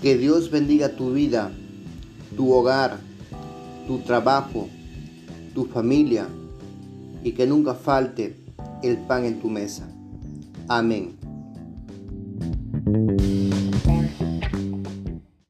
Que Dios bendiga tu vida, tu hogar, tu trabajo, tu familia y que nunca falte el pan en tu mesa. Amén.